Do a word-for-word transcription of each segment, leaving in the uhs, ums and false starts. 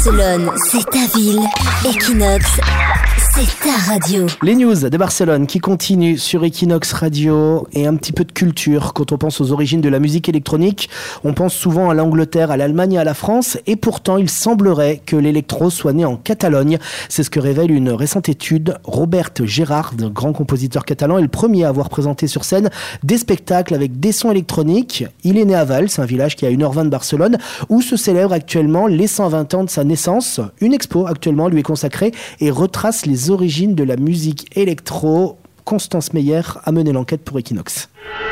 Barcelone, c'est ta ville. Equinox, c'est ta radio. Les news de Barcelone qui continuent sur Equinox Radio et un petit peu de culture. Quand on pense aux origines de la musique électronique, on pense souvent à l'Angleterre, à l'Allemagne et à la France. Et pourtant, il semblerait que l'électro soit né en Catalogne. C'est ce que révèle une récente étude. Robert Gerhard, grand compositeur catalan, est le premier à avoir présenté sur scène des spectacles avec des sons électroniques. Il est né à Valls, un village qui est à une heure vingt de Barcelone, où se célèbre actuellement les cent vingt ans de sa naissance. Une expo actuellement lui est consacrée et retrace les origines de la musique électro. Constance Meyer a mené l'enquête pour Equinox.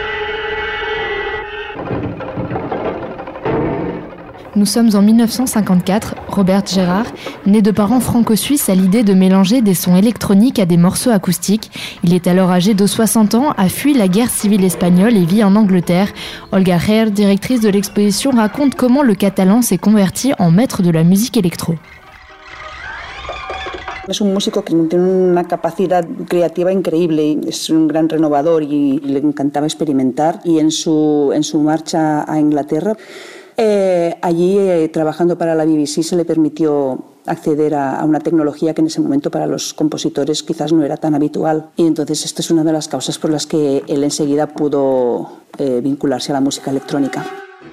Nous sommes en dix-neuf cent cinquante-quatre. Robert Gerhard, né de parents franco-suisses, a l'idée de mélanger des sons électroniques à des morceaux acoustiques. Il est alors âgé de soixante ans, a fui la guerre civile espagnole et vit en Angleterre. Olga Herr, directrice de l'exposition, raconte comment le catalan s'est converti en maître de la musique électro. Es un músico que tiene una capacidad creativa increíble, es un gran renovador y le encantaba experimentar. Y en su, en su marcha a Inglaterra, eh, allí eh, trabajando para la B B C se le permitió acceder a, a una tecnología que en ese momento para los compositores quizás no era tan habitual. Y entonces esto es una de las causas por las que él enseguida pudo eh, vincularse a la música electrónica.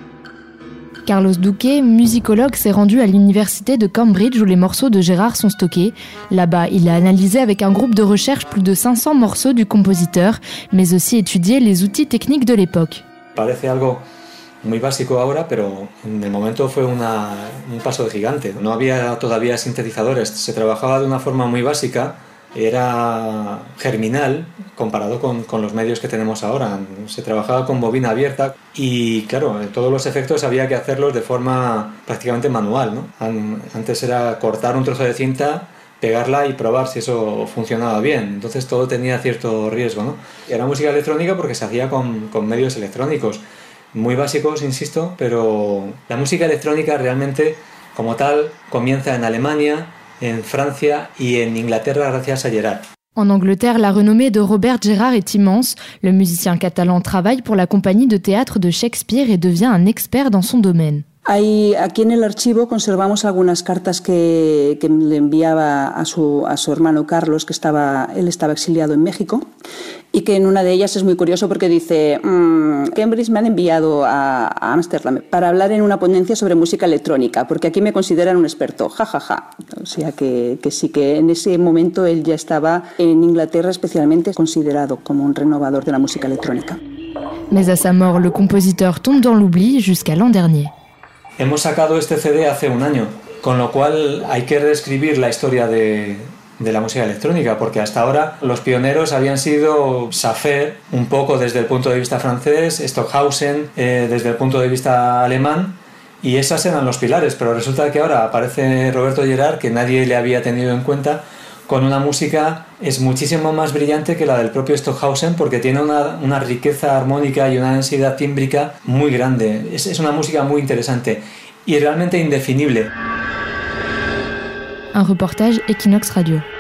Carlos Duque, musicologue, s'est rendu à l'université de Cambridge où les morceaux de Gerhard sont stockés. Là-bas, il a analysé avec un groupe de recherche plus de cinq cents morceaux du compositeur, mais aussi étudié les outils techniques de l'époque. Parece algo muy básico ahora, pero en el momento fue una, un paso de gigante. No había todavía sintetizadores, se trabajaba de una forma muy básica. Era germinal comparado con, con los medios que tenemos ahora. Se trabajaba con bobina abierta y, claro, todos los efectos había que hacerlos de forma prácticamente manual, ¿no? Antes era cortar un trozo de cinta, pegarla y probar si eso funcionaba bien. Entonces todo tenía cierto riesgo, ¿no? Era música electrónica porque se hacía con, con medios electrónicos. Muy básicos, insisto, pero la música electrónica realmente, como tal, comienza en Alemania, en Francia y en Inglaterra gracias a Gerhard. En Angleterre, la renommée de Robert Gerhard est immense. Le musicien catalan travaille pour la compagnie de théâtre de Shakespeare et devient un expert dans son domaine. Hay, aquí en el archivo conservamos algunas cartas que, que le enviaba a su, a su hermano Carlos, que estaba, él estaba exiliado en México, y que en una de ellas es muy curioso porque dice mmm, Cambridge me han enviado a Ámsterdam para hablar en una ponencia sobre música electrónica, porque aquí me consideran un experto, jajaja. Ja, ja. O sea que, que sí que en ese momento él ya estaba en Inglaterra especialmente considerado como un renovador de la música electrónica. Mais à sa mort, le compositeur tombe dans l'oubli jusqu'à l'an dernier. Hemos sacado este C D hace un año, con lo cual hay que reescribir la historia de, de la música electrónica, porque hasta ahora los pioneros habían sido Safer, un poco desde el punto de vista francés, Stockhausen eh, desde el punto de vista alemán, y esas eran los pilares, pero resulta que ahora aparece Roberto Gerhard, que nadie le había tenido en cuenta, con una música es muchísimo más brillante que la del propio Stockhausen porque tiene una, una riqueza armónica y una densidad tímbrica muy grande. Es, es una música muy interesante y realmente indefinible. Un reportage Equinox Radio.